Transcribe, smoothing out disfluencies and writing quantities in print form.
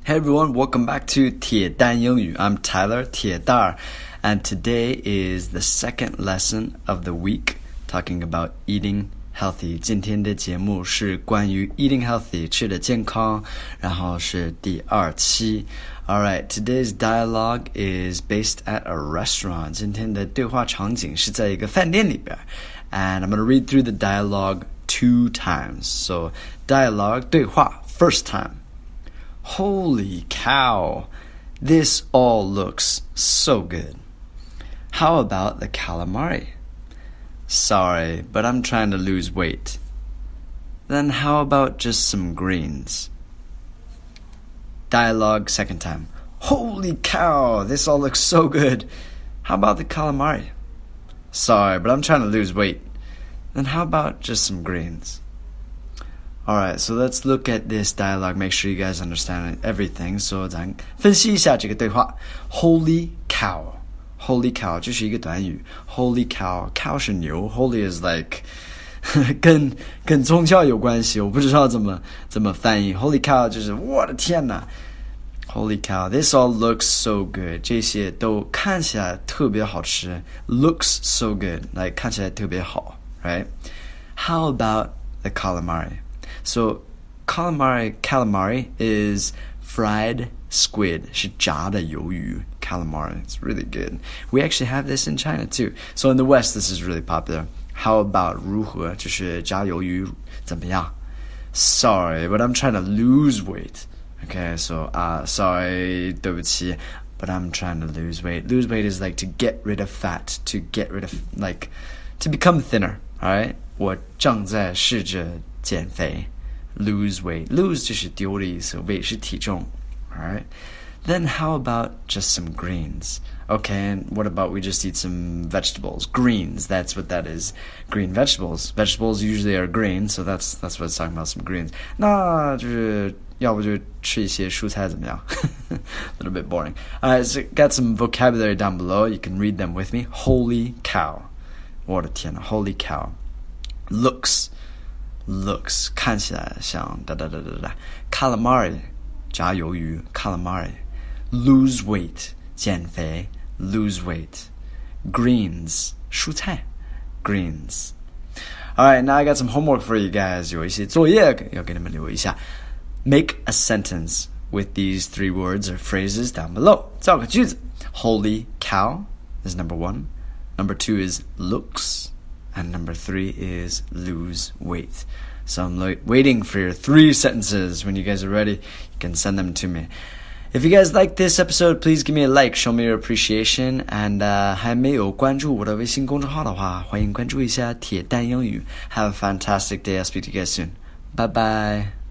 Hey everyone, welcome back to 铁蛋英语. I'm Tyler 铁蛋儿, and today is the second lesson of the week talking about eating healthy. 今天的节目是关于 eating healthy 吃的健康，然后是第2期。Alright, today's dialogue is based at a restaurant. 今天的对话场景是在一个饭店里边。And I'm going to read through the dialogue 2 times. So, dialogue 对话 first time.Holy cow, this all looks so good. How about the calamari? Sorry, but I'm trying to lose weight. Then how about just some greens? Dialogue second time. Holy cow, this all looks so good. How about the calamari? Sorry, but I'm trying to lose weight. Then how about just some greens?Alright, so let's look at this dialogue. Make sure you guys understand everything. So 咱分析一下这个对话。Holy cow. Holy cow 这是一个短语。Holy cow. Cow 是牛。Holy is like 跟宗教有关系。我不知道怎么翻译。Holy cow 就是我的天哪。Holy cow. This all looks so good. 这些都看起来特别好吃。Looks so good. Like 看起来特别好。Right? How about the calamari?So, calamari is fried squid. 是炸的鱿鱼 calamari. It's really good. We actually have this in China too. So in the West, this is really popular. How about 如何就是炸鱿鱼怎么样 Sorry, but I'm trying to lose weight. Okay, so sorry, 对不起 but I'm trying to lose weight. Lose weight is like to get rid of fat, to get rid of, like, to become thinner. Alright? 我正在试着减肥Lose weight. Lose 就是丢的意思 weight 是体重 Alright? Then how about just some greens? Okay, and what about we just eat some vegetables? Greens, that's what that is. Green vegetables. Vegetables usually are green, so that's what it's talking about, some greens. 那就是要不就吃一些蔬菜怎么样 A little bit boring. Alright, so got some vocabulary down below. You can read them with me. Holy cow. 我的天哪 Holy cow. Looks 看起来像calamari 炸鱿鱼 calamari lose weight 减肥 lose weight greens 蔬菜 greens Alright, now I got some homework for you guys 有一些作业要给你们留一下 Make a sentence with these 3 words or phrases down below 造个句子 Holy cow is number 1 Number 2 is looks.And number 3 is lose weight. So I'm waiting for your 3 sentences. When you guys are ready, you can send them to me. If you guys like this episode, please give me a like, show me your appreciation. And 还没有关注我的微信公众号的话，欢迎关注一下铁蛋英语。Have a fantastic day. I'll speak to you guys soon. Bye bye.